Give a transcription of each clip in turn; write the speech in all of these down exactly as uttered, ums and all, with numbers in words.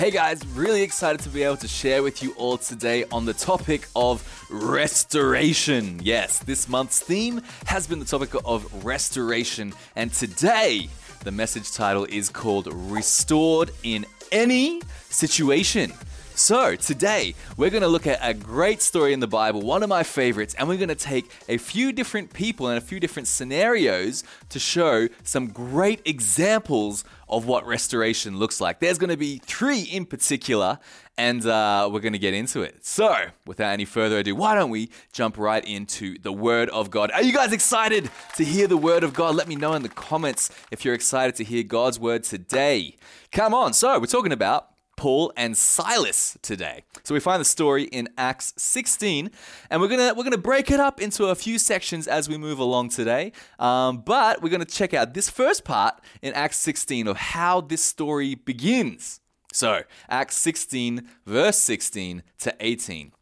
Hey guys, really excited to be able to share with you all today on the topic of restoration. Yes, this month's theme has been the topic of restoration, and today the message title is called Restored in Any Situation. So today we're going to look at a great story in the Bible, one of my favorites, and we're going to take a few different people and a few different scenarios to show some great examples of what restoration looks like. There's going to be three in particular, and uh, we're going to get into it. So without any further ado, why don't we jump right into the Word of God? Are you guys excited to hear the Word of God? Let me know in the comments if you're excited to hear God's Word today. Come on. So we're talking about Paul and Silas today. So we find the story in Acts sixteen, and we're gonna we're gonna break it up into a few sections as we move along today. Um, but we're gonna check out this first part in Acts sixteen of how this story begins. So Acts sixteen, verse sixteen to eighteen.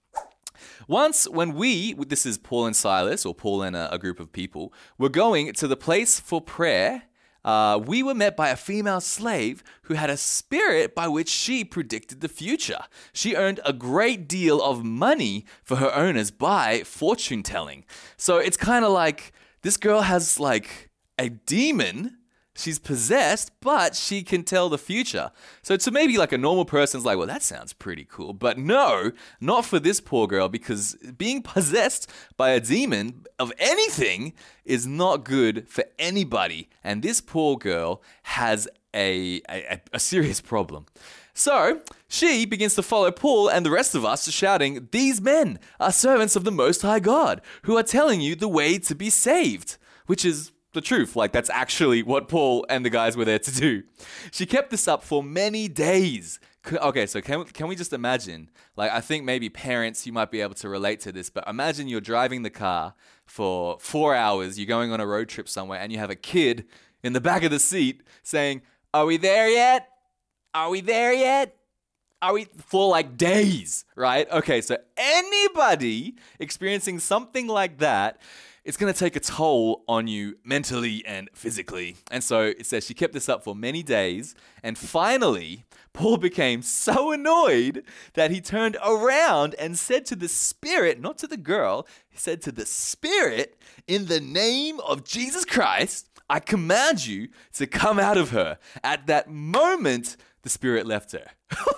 Once when we, this is Paul and Silas, or Paul and a, a group of people, were going to the place for prayer, Uh, we were met by a female slave who had a spirit by which she predicted the future. She earned a great deal of money for her owners by fortune telling. So it's kind of like this girl has like a demon. She's possessed, but she can tell the future. So to maybe like a normal person's like, well, that sounds pretty cool. But no, not for this poor girl, because being possessed by a demon of anything is not good for anybody. And this poor girl has a, a, a serious problem. So she begins to follow Paul and the rest of us, shouting, "These men are servants of the Most High God, who are telling you the way to be saved," which is the truth. Like, that's actually what Paul and the guys were there to do. She kept this up for many days. Okay, so can, can we just imagine, like, I think maybe parents, you might be able to relate to this, but imagine you're driving the car for four hours, you're going on a road trip somewhere, and you have a kid in the back of the seat saying, "Are we there yet? Are we there yet? Are we," for like days, right? Okay, so anybody experiencing something like that, it's going to take a toll on you mentally and physically. And so it says she kept this up for many days. And finally, Paul became so annoyed that he turned around and said to the spirit, not to the girl, he said to the spirit, "In the name of Jesus Christ, I command you to come out of her." At that moment, the spirit left her.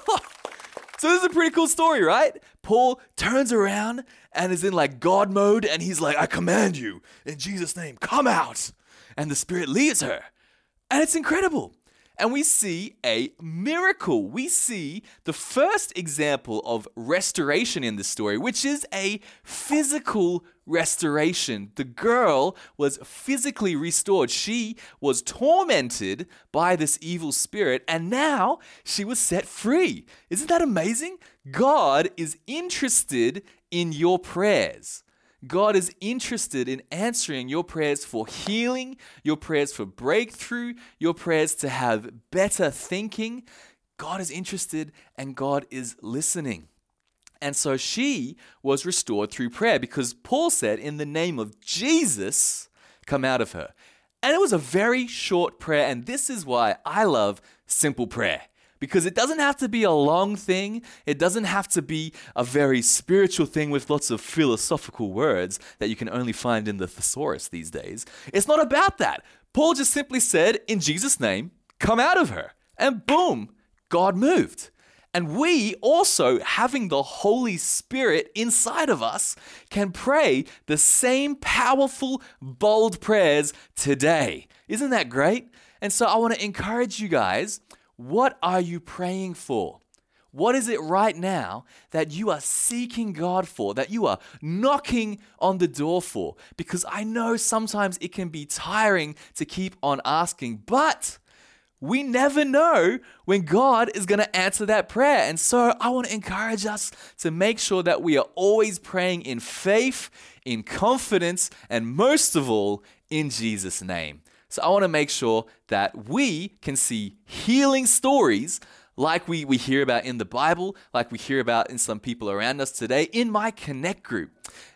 So this is a pretty cool story, right? Paul turns around and is in like God mode, and he's like, "I command you in Jesus' name, come out." And the spirit leaves her. And it's incredible. And we see a miracle. We see the first example of restoration in this story, which is a physical restoration. The girl was physically restored. She was tormented by this evil spirit, and now she was set free. Isn't that amazing? God is interested in your prayers. God is interested in answering your prayers for healing, your prayers for breakthrough, your prayers to have better thinking. God is interested and God is listening. And so she was restored through prayer because Paul said, "In the name of Jesus, come out of her." And it was a very short prayer, and this is why I love simple prayer. Because it doesn't have to be a long thing. It doesn't have to be a very spiritual thing with lots of philosophical words that you can only find in the thesaurus these days. It's not about that. Paul just simply said, "In Jesus' name, come out of her." And boom, God moved. And we also, having the Holy Spirit inside of us, can pray the same powerful, bold prayers today. Isn't that great? And so I want to encourage you guys. What are you praying for? What is it right now that you are seeking God for, that you are knocking on the door for? Because I know sometimes it can be tiring to keep on asking, but we never know when God is going to answer that prayer. And so I want to encourage us to make sure that we are always praying in faith, in confidence, and most of all, in Jesus' name. So I want to make sure that we can see healing stories like we, we hear about in the Bible, like we hear about in some people around us today, in my Connect group.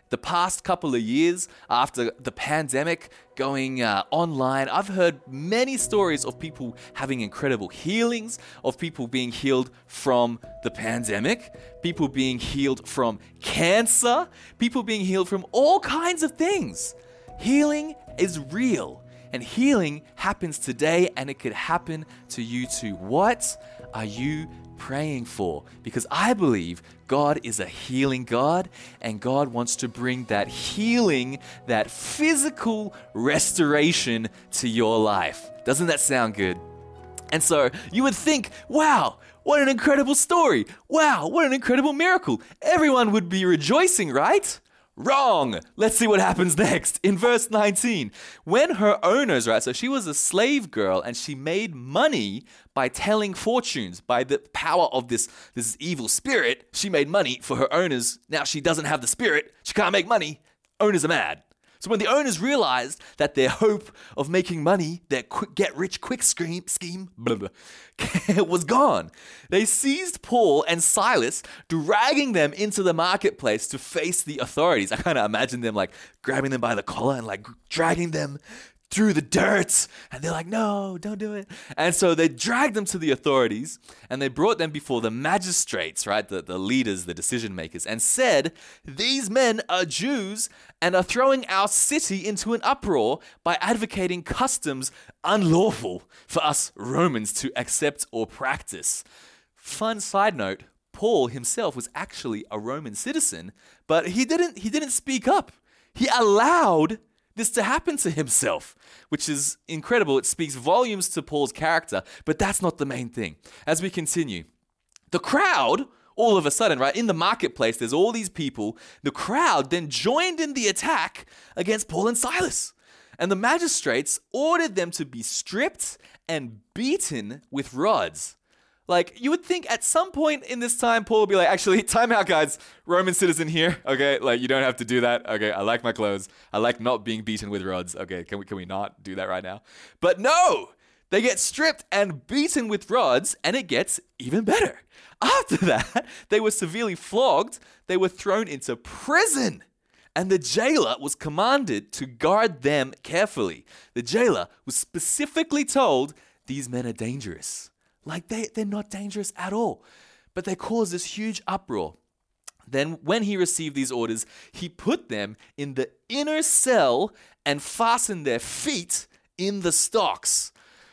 the past couple of years after the pandemic going uh, online, I've heard many stories of people having incredible healings, of people being healed from the pandemic, people being healed from cancer, people being healed from all kinds of things. Healing is real, and healing happens today, and it could happen to you too. What are you praying for? Because I believe God is a healing God, and God wants to bring that healing, that physical restoration to your life. Doesn't that sound good? And so you would think, wow, what an incredible story. Wow, what an incredible miracle. Everyone would be rejoicing, right? Wrong. Let's see what happens next. In verse nineteen, when her owners, right, so she was a slave girl and she made money by telling fortunes, by the power of this, this evil spirit. She made money for her owners. Now she doesn't have the spirit. She can't make money. Owners are mad. So when the owners realized that their hope of making money, their quick, get-rich-quick scheme, scheme blah, blah, was gone, they seized Paul and Silas, dragging them into the marketplace to face the authorities. I kind of imagine them like grabbing them by the collar and like dragging them through the dirt. And they're like, no, don't do it. And so they dragged them to the authorities and they brought them before the magistrates, right? The, the leaders, the decision makers, and said, these men are Jews and are throwing our city into an uproar by advocating customs unlawful for us Romans to accept or practice. Fun side note, Paul himself was actually a Roman citizen, but he didn't, he didn't speak up. He allowed this to happen to himself, which is incredible. It speaks volumes to Paul's character, but that's not the main thing. As we continue, the crowd, all of a sudden, right, in the marketplace, there's all these people. The crowd then joined in the attack against Paul and Silas. And the magistrates ordered them to be stripped and beaten with rods. Like, you would think at some point in this time, Paul would be like, actually, time out, guys. Roman citizen here, okay? Like, you don't have to do that. Okay, I like my clothes. I like not being beaten with rods. Okay, can we can we not do that right now? But no! They get stripped and beaten with rods, and it gets even better. After that, they were severely flogged. They were thrown into prison. And the jailer was commanded to guard them carefully. The jailer was specifically told, these men are dangerous. Like, they, they're not dangerous at all. But they caused this huge uproar. Then, when he received these orders, he put them in the inner cell and fastened their feet in the stocks.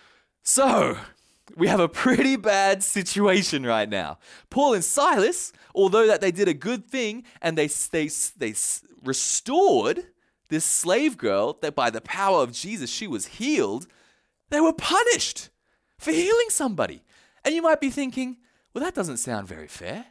So, we have a pretty bad situation right now. Paul and Silas, although that they did a good thing and they, they, they restored this slave girl, that by the power of Jesus, she was healed, they were punished for healing somebody. And you might be thinking, well, that doesn't sound very fair.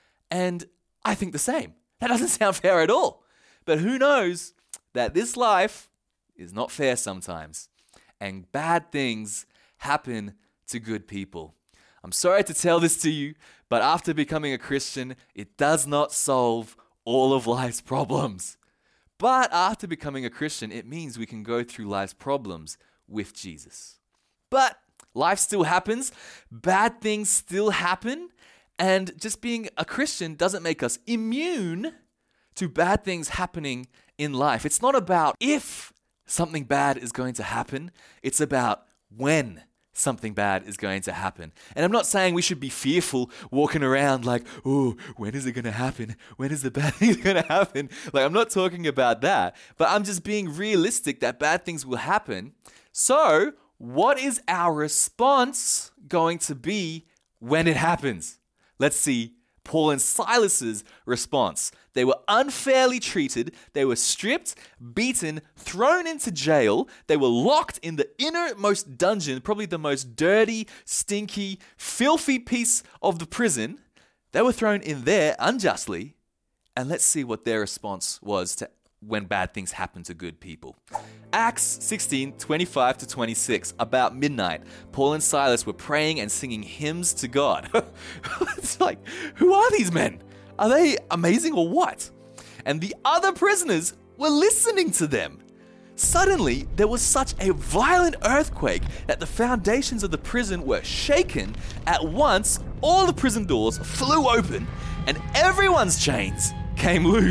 And I think the same. That doesn't sound fair at all. But who knows that this life is not fair sometimes. And bad things happen to good people. I'm sorry to tell this to you, but after becoming a Christian, it does not solve all of life's problems. But after becoming a Christian, it means we can go through life's problems with Jesus. But life still happens, bad things still happen, and just being a Christian doesn't make us immune to bad things happening in life. It's not about if something bad is going to happen, it's about when something bad is going to happen. And I'm not saying we should be fearful walking around like, oh, when is it going to happen? When is the bad thing going to happen? Like, I'm not talking about that, but I'm just being realistic that bad things will happen. So, what is our response going to be when it happens? Let's see Paul and Silas's response. They were unfairly treated. They were stripped, beaten, thrown into jail. They were locked in the innermost dungeon, probably the most dirty, stinky, filthy piece of the prison. They were thrown in there unjustly. And let's see what their response was to when bad things happen to good people. Acts sixteen, twenty-five to twenty-six, about midnight, Paul and Silas were praying and singing hymns to God. It's like, who are these men? Are they amazing or what? And the other prisoners were listening to them. Suddenly, there was such a violent earthquake that the foundations of the prison were shaken. At once, all the prison doors flew open and everyone's chains came loose.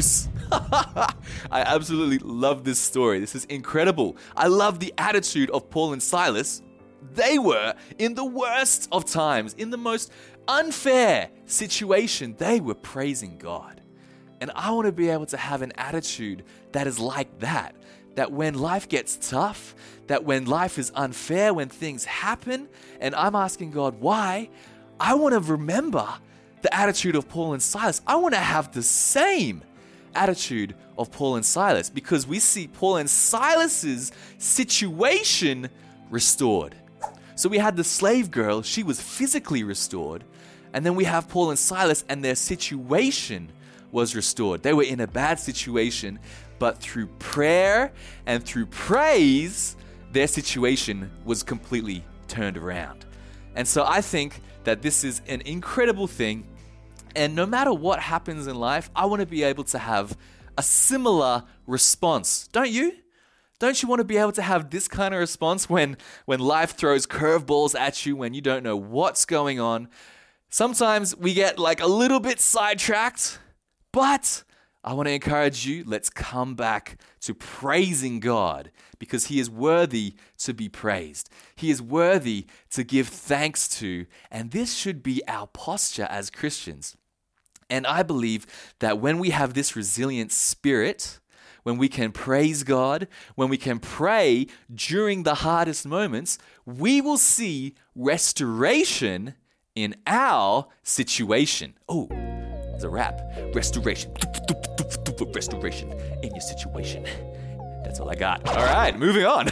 I absolutely love this story. This is incredible. I love the attitude of Paul and Silas. They were in the worst of times, in the most unfair situation. They were praising God. And I want to be able to have an attitude that is like that. That when life gets tough, that when life is unfair, when things happen, and I'm asking God why, I want to remember the attitude of Paul and Silas. I want to have the same attitude of Paul and Silas, because we see Paul and Silas's situation restored. So we had the slave girl, she was physically restored, and then we have Paul and Silas and their situation was restored. They were in a bad situation, but through prayer and through praise, their situation was completely turned around. And so I think that this is an incredible thing. And no matter what happens in life, I want to be able to have a similar response. Don't you? Don't you want to be able to have this kind of response when, when life throws curveballs at you, when you don't know what's going on? Sometimes we get like a little bit sidetracked, but I want to encourage you, let's come back to praising God, because He is worthy to be praised. He is worthy to give thanks to, and this should be our posture as Christians. And I believe that when we have this resilient spirit, when we can praise God, when we can pray during the hardest moments, we will see restoration in our situation. Oh, there's a rap. Restoration. Restoration in your situation. That's all I got. All right, moving on.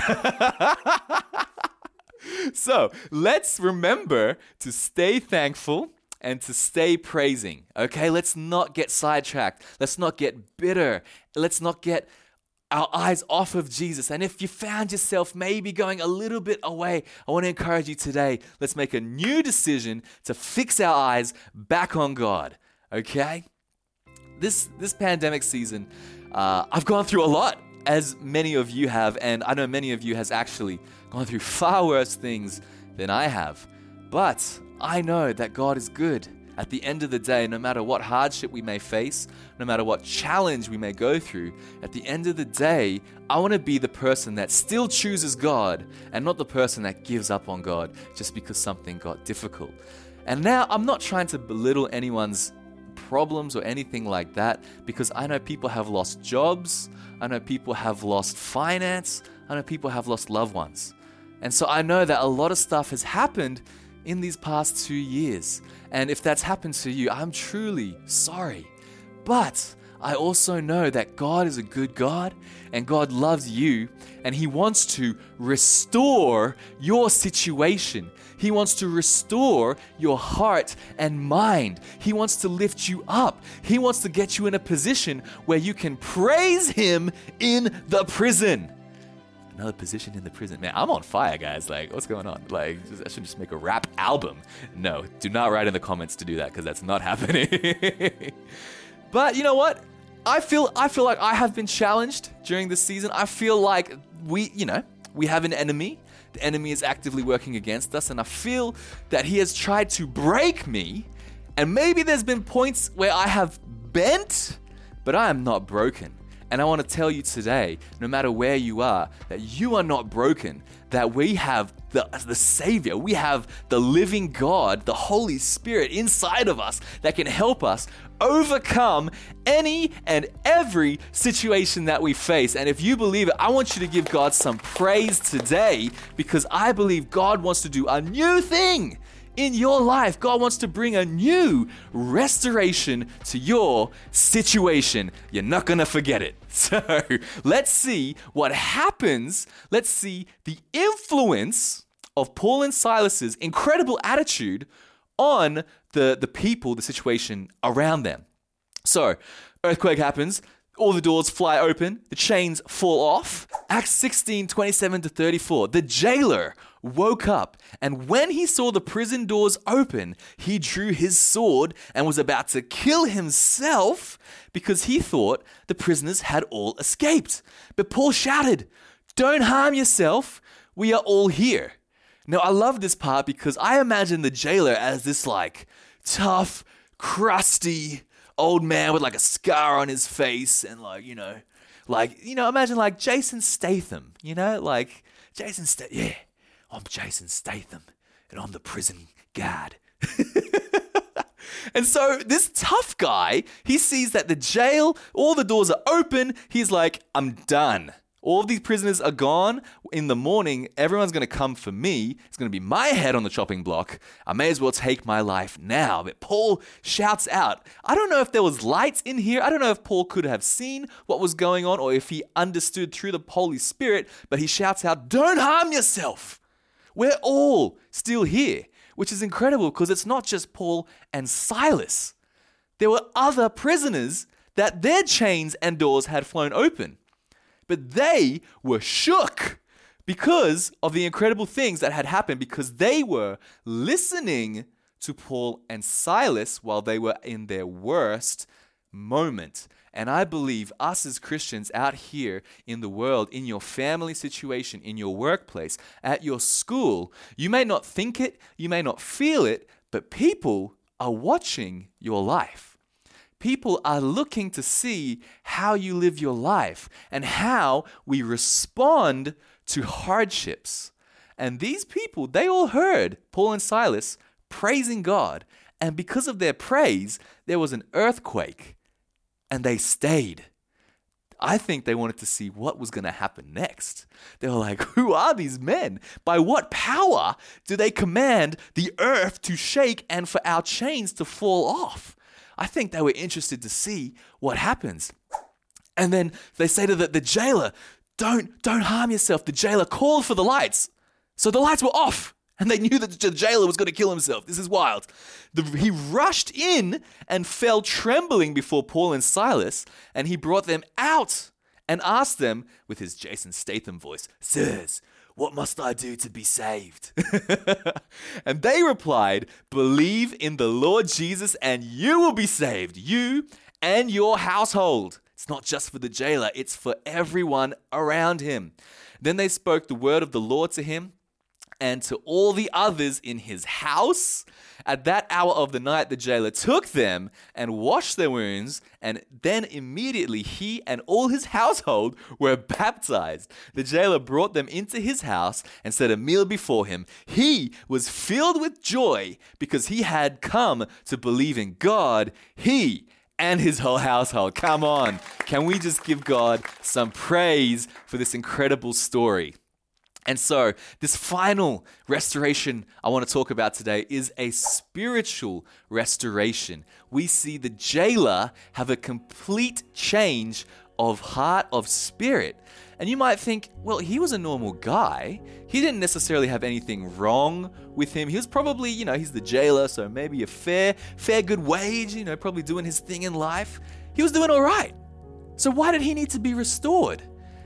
So let's remember to stay thankful and to stay praising. Okay, let's not get sidetracked. Let's not get bitter. Let's not get our eyes off of Jesus. And if you found yourself maybe going a little bit away, I want to encourage you today. Let's make a new decision to fix our eyes back on God. Okay? This this pandemic season, uh, I've gone through a lot, as many of you have, and I know many of you has actually gone through far worse things than I have. But I know that God is good. At the end of the day, no matter what hardship we may face, no matter what challenge we may go through, at the end of the day, I want to be the person that still chooses God and not the person that gives up on God just because something got difficult. And now I'm not trying to belittle anyone's problems or anything like that, because I know people have lost jobs, I know people have lost finance, I know people have lost loved ones. And so I know that a lot of stuff has happened in these past two years. And if that's happened to you, I'm truly sorry. But I also know that God is a good God and God loves you, and He wants to restore your situation. He wants to restore your heart and mind. He wants to lift you up. He wants to get you in a position where you can praise Him in the prison. Another position in the prison. Man, I'm on fire, guys. Like, what's going on? Like, just, I should just make a rap album. No, do not write in the comments to do that, because that's not happening. But you know what? I feel I feel like I have been challenged during this season. I feel like we, you know, we have an enemy. The enemy is actively working against us, and I feel that he has tried to break me. And maybe there's been points where I have bent, but I am not broken. And I want to tell you today, no matter where you are, that you are not broken, that we have the, the Savior, we have the living God, the Holy Spirit inside of us that can help us overcome any and every situation that we face. And if you believe it, I want you to give God some praise today, because I believe God wants to do a new thing in your life. God wants to bring a new restoration to your situation. You're not going to forget it. So let's see what happens. Let's see the influence of Paul and Silas's incredible attitude on the, the people, the situation around them. So, earthquake happens. All the doors fly open. The chains fall off. Acts sixteen, twenty-seven to thirty-four. The jailer woke up, and when he saw the prison doors open, he drew his sword and was about to kill himself because he thought the prisoners had all escaped. But Paul shouted, "Don't harm yourself. We are all here." Now, I love this part because I imagine the jailer as this like tough, crusty, old man with like a scar on his face and like, you know, like, you know, imagine like Jason Statham, you know, like Jason Statham. Yeah, I'm Jason Statham and I'm the prison guard. And so this tough guy, he sees that the jail, all the doors are open. He's like, I'm done. All of these prisoners are gone. In the morning, everyone's going to come for me. It's going to be my head on the chopping block. I may as well take my life now. But Paul shouts out. I don't know if there was lights in here. I don't know if Paul could have seen what was going on or if he understood through the Holy Spirit. But he shouts out, don't harm yourself. We're all still here. Which is incredible because it's not just Paul and Silas. There were other prisoners that their chains and doors had flown open. But they were shook because of the incredible things that had happened because they were listening to Paul and Silas while they were in their worst moment. And I believe us as Christians out here in the world, in your family situation, in your workplace, at your school, you may not think it, you may not feel it, but people are watching your life. People are looking to see how you live your life and how we respond to hardships. And these people, they all heard Paul and Silas praising God. And because of their praise, there was an earthquake. And they stayed. I think they wanted to see what was going to happen next. They were like, who are these men? By what power do they command the earth to shake and for our chains to fall off? I think they were interested to see what happens. And then they say to the, the jailer, don't, don't harm yourself. The jailer called for the lights. So the lights were off. And they knew that the jailer was going to kill himself. This is wild. The, he rushed in and fell trembling before Paul and Silas, and he brought them out and asked them with his Jason Statham voice, Sirs, what must I do to be saved? And they replied, believe in the Lord Jesus and you will be saved, you and your household. It's not just for the jailer, it's for everyone around him. Then they spoke the word of the Lord to him and to all the others in his house. At that hour of the night, the jailer took them and washed their wounds, and then immediately he and all his household were baptized. The jailer brought them into his house and set a meal before him. He was filled with joy because he had come to believe in God. He and his whole household. Come on. Can we just give God some praise for this incredible story? And so this final restoration I want to talk about today is a spiritual restoration. We see the jailer have a complete change of heart, of spirit. And you might think, well, he was a normal guy. He didn't necessarily have anything wrong with him. He was probably, you know, he's the jailer, so maybe a fair, fair good wage, you know, probably doing his thing in life. He was doing all right. So why did he need to be restored?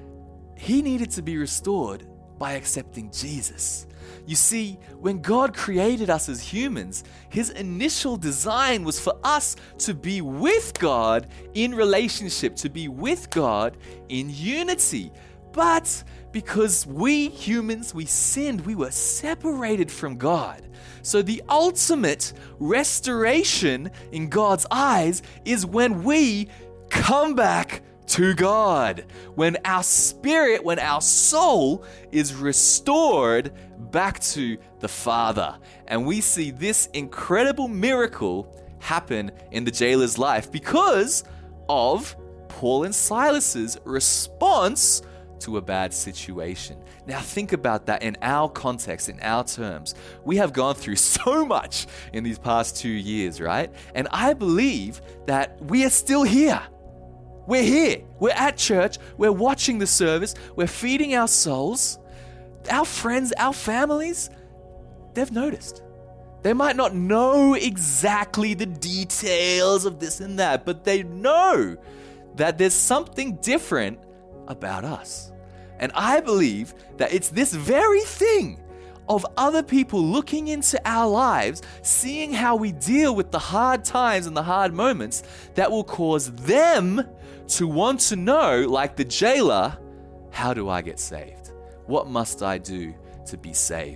He needed to be restored by accepting Jesus. You see, when God created us as humans, his initial design was for us to be with God in relationship, to be with God in unity. But because we humans, we sinned, we were separated from God. So the ultimate restoration in God's eyes is when we come back to God, when our spirit, when our soul is restored back to the Father. And we see this incredible miracle happen in the jailer's life because of Paul and Silas's response to a bad situation. Now think about that in our context, in our terms. We have gone through so much in these past two years, right? And I believe that we are still here. We're here. We're at church. We're watching the service. We're feeding our souls. Our friends, our families, they've noticed. They might not know exactly the details of this and that, but they know that there's something different about us. And I believe that it's this very thing of other people looking into our lives, seeing how we deal with the hard times and the hard moments that will cause them to want to know, like the jailer, how do I get saved? What must I do to be saved?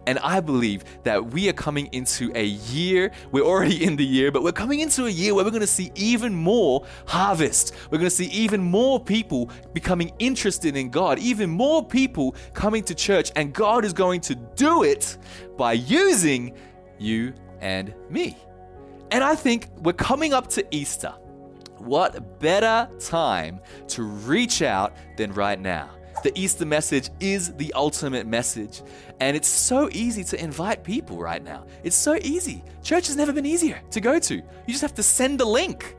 And I believe that we are coming into a year, we're already in the year, but we're coming into a year where we're going to see even more harvest. We're going to see even more people becoming interested in God, even more people coming to church, and God is going to do it by using you and me. And I think we're coming up to Easter. What better time to reach out than right now? The Easter message is the ultimate message, and it's so easy to invite people right now. It's so easy. Church has never been easier to go to. You just have to send a link.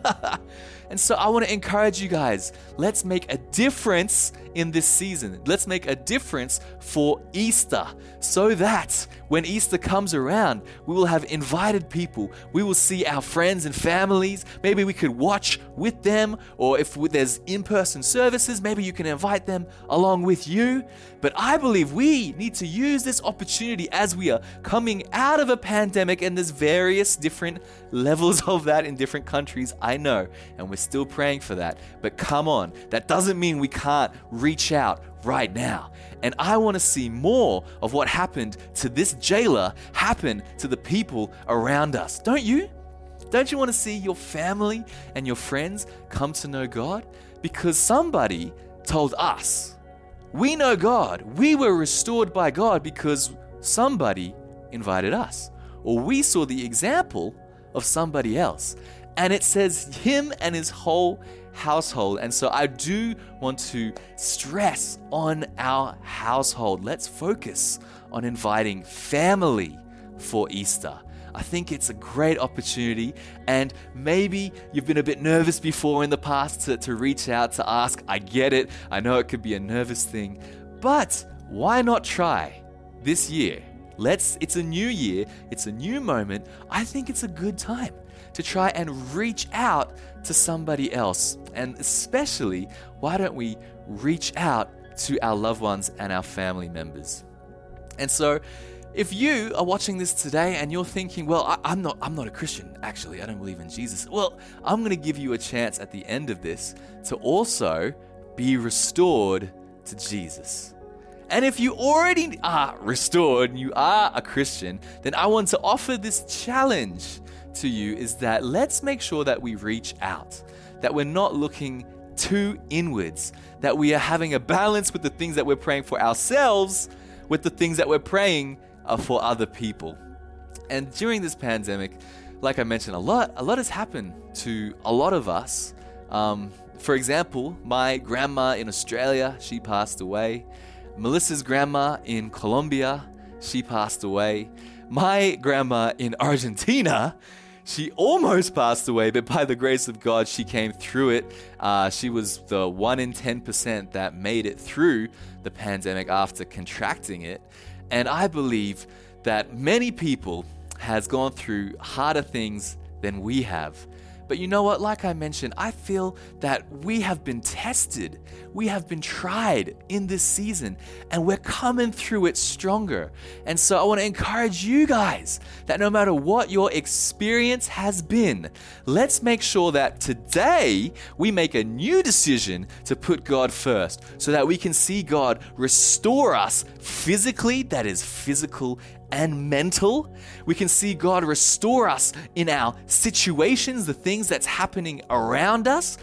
And so I want to encourage you guys, let's make a difference in this season. Let's make a difference for Easter so that when Easter comes around, we will have invited people. We will see our friends and families. Maybe we could watch with them, or if there's in-person services, maybe you can invite them along with you. But I believe we need to use this opportunity as we are coming out of a pandemic, and there's various different levels of that in different countries, I know, and we're still praying for that. But come on, that doesn't mean we can't reach out right now. And I want to see more of what happened to this jailer happen to the people around us. Don't you? Don't you want to see your family and your friends come to know God? Because somebody told us. We know God. We were restored by God because somebody invited us. Or we saw the example of somebody else. And it says him and his whole household. And so I do want to stress on our household. Let's focus on inviting family for Easter. I think it's a great opportunity, and maybe you've been a bit nervous before in the past to, to reach out to ask. I get it. I know it could be a nervous thing, but why not try this year? Let's, it's a new year. It's a new moment. I think it's a good time to try and reach out to somebody else. And especially, why don't we reach out to our loved ones and our family members? And so, if you are watching this today and you're thinking, well, I, I'm not I'm not a Christian, actually, I don't believe in Jesus. Well, I'm going to give you a chance at the end of this to also be restored to Jesus. And if you already are restored and you are a Christian, then I want to offer this challenge to you, is that let's make sure that we reach out, that we're not looking too inwards, that we are having a balance with the things that we're praying for ourselves with the things that we're praying uh, for other people. And during this pandemic, like I mentioned, a lot, a lot has happened to a lot of us. Um, for example, my grandma in Australia, she passed away. Melissa's grandma in Colombia, she passed away. My grandma in Argentina, she almost passed away, but by the grace of God, she came through it. Uh, she was the one in ten percent that made it through the pandemic after contracting it. And I believe that many people has gone through harder things than we have. But you know what? Like I mentioned, I feel that we have been tested. We have been tried in this season, and we're coming through it stronger. And so I want to encourage you guys that no matter what your experience has been, let's make sure that today we make a new decision to put God first so that we can see God restore us physically, that is physical and mental. We can see God restore us in our situations, the things that's happening around us,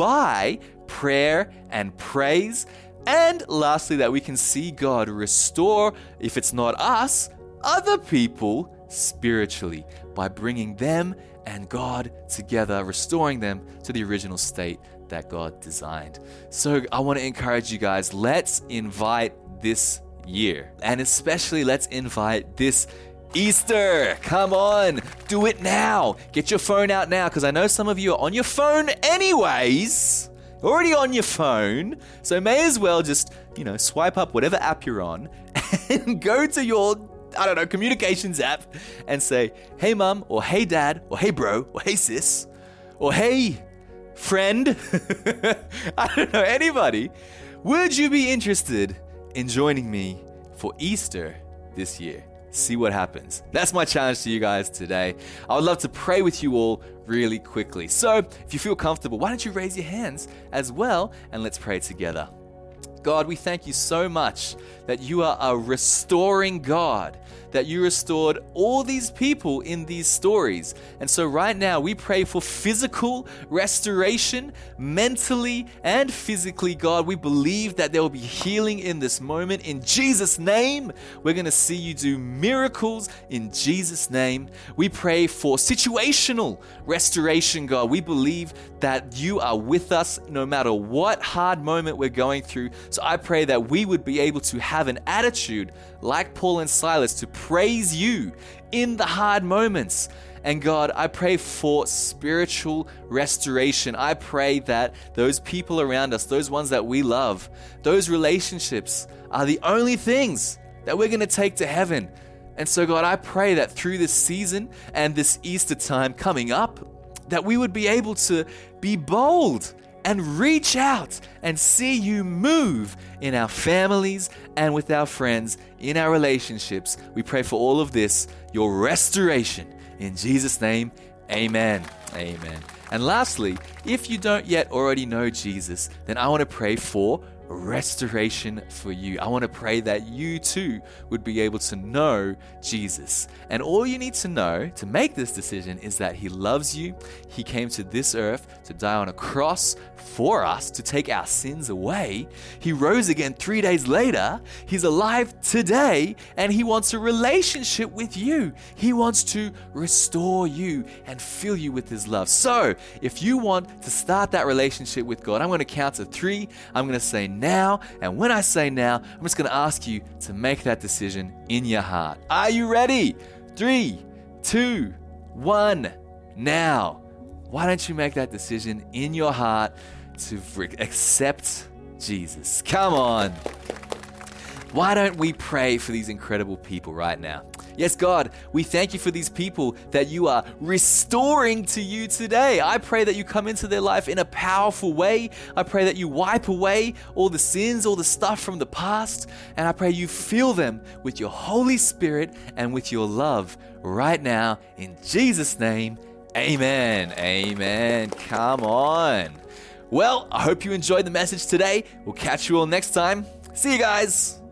by prayer and praise. And lastly, that we can see God restore, if it's not us, other people spiritually by bringing them and God together, restoring them to the original state that God designed. So I want to encourage you guys, let's invite this year. And especially let's invite this Easter. Come on, do it now. Get your phone out now, because I know some of you are on your phone anyways. Already on your phone. So may as well just, you know, swipe up whatever app you're on and go to your, I don't know, communications app and say, hey mum, or hey dad, or hey bro, or hey sis, or hey friend. I don't know, anybody. Would you be interested in joining me for Easter this year? See what happens. That's my challenge to you guys today. I would love to pray with you all really quickly. So if you feel comfortable, why don't you raise your hands as well, and let's pray together. God, we thank you so much that you are a restoring God, that you restored all these people in these stories. And so right now we pray for physical restoration, mentally and physically, God. We believe that there will be healing in this moment. In Jesus' name, we're going to see you do miracles in Jesus' name. We pray for situational restoration, God. We believe that you are with us no matter what hard moment we're going through. So I pray that we would be able to have an attitude like Paul and Silas to praise you in the hard moments. And God, I pray for spiritual restoration. I pray that those people around us, those ones that we love, those relationships are the only things that we're going to take to heaven. And so God, I pray that through this season and this Easter time coming up, that we would be able to be bold and reach out and see you move in our families and with our friends, in our relationships. We pray for all of this, your restoration. In Jesus' name, amen. Amen. And lastly, if you don't yet already know Jesus, then I want to pray for restoration for you. I want to pray that you too would be able to know Jesus. And all you need to know to make this decision is that he loves you. He came to this earth to die on a cross for us to take our sins away. He rose again three days later. He's alive today and he wants a relationship with you. He wants to restore you and fill you with his love. So if you want to start that relationship with God, I'm going to count to three. I'm going to say now. And when I say now, I'm just going to ask you to make that decision in your heart. Are you ready? Three, two, one, now. Why don't you make that decision in your heart to accept Jesus? Come on. Why don't we pray for these incredible people right now? Yes, God, we thank you for these people that you are restoring to you today. I pray that you come into their life in a powerful way. I pray that you wipe away all the sins, all the stuff from the past. And I pray you fill them with your Holy Spirit and with your love right now. In Jesus' name, amen. Amen. Come on. Well, I hope you enjoyed the message today. We'll catch you all next time. See you guys.